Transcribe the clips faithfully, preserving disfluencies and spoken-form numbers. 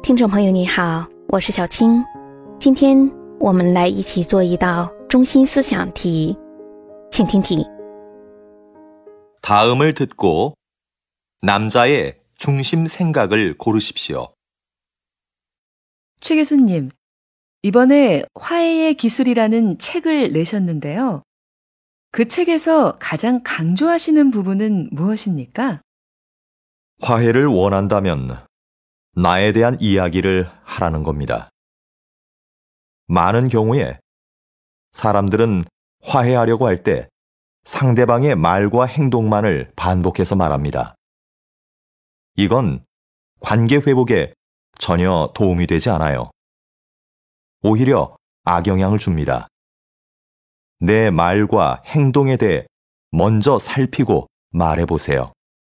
听众朋友你好，我是小青。今天我们来一起做一道中心思想题，请听题。 다음을 듣고 남자의 중심 생각을 고르십시오. 최 교수님, 이번에 화해의 기술이라는 책을 내셨는데요. 그 책에서 가장 강조하시는 부분은 무엇입니까? 화해를 원한다면 나에 대한 이야기를 하라는 겁니다. 많은 경우에 사람들은 화해하려고 할 때 상대방의 말과 행동만을 반복해서 말합니다. 이건 관계 회복에 전혀 도움이 되지 않아요. 오히려 악영향을 줍니다. 내 말과 행동에 대해 먼저 살피고 말해보세요.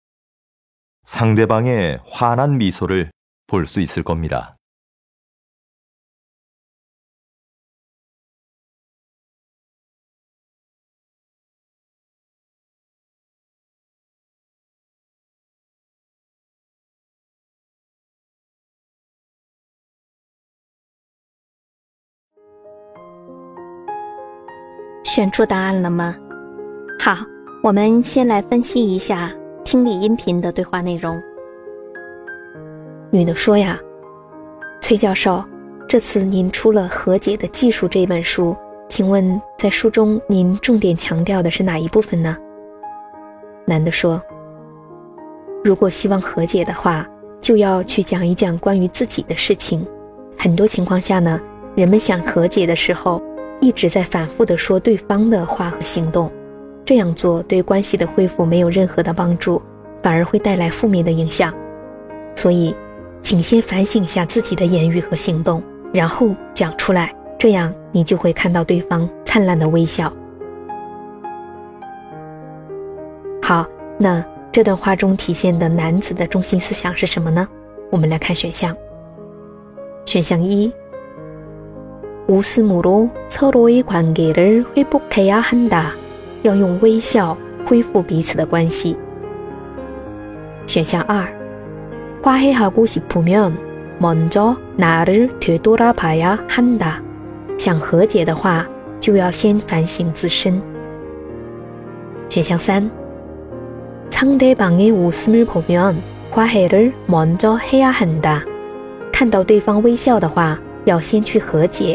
상대방의 환한 미소를 볼 수 있을 겁니다. (选出答案了吗？好，我们先来分析一下听力音频的对话内容。女的说呀，崔教授，这次您出了《和解的技术》这本书，请问在书中您重点强调的是哪一部分呢？男的说，如果希望和解的话，就要去讲一讲关于自己的事情。很多情况下呢，人们想和解的时候，一直在反复地说对方的话和行动，这样做对关系的恢复没有任何的帮助，反而会带来负面的影响。所以请先反省一下自己的言语和行动，然后讲出来，这样你就会看到对方灿烂的微笑。好，那这段话中体现的男子的中心思想是什么呢？我们来看选项。选项一， 웃음으로 서로의 관계를 회복해야 한다， 要用微笑恢复彼此的关系。选项二， 화해하고 싶으면 먼저 나를 되돌아봐야 한다， 想和解的话就要先反省自身。选项三， 상대방의 웃음을 보면 화해를 먼저 해야 한다， 看到对方微笑的话要先去和解。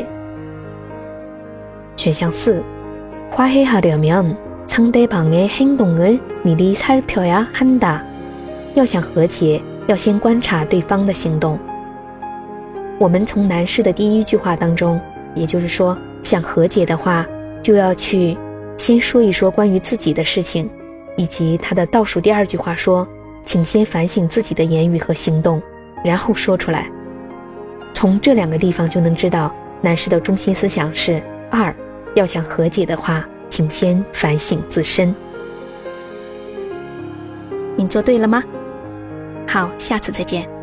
选项四， 화해하려면 상대방의 행동을 미리 살펴야 한다， 要想和解要先观察对方的行动。我们从男士的第一句话当中，也就是说想和解的话就要去先说一说关于自己的事情，以及他的倒数第二句话说请先反省自己的言语和行动，然后说出来。从这两个地方就能知道男士的中心思想是二，要想和解的话请先反省自身。您做对了吗？好，下次再见。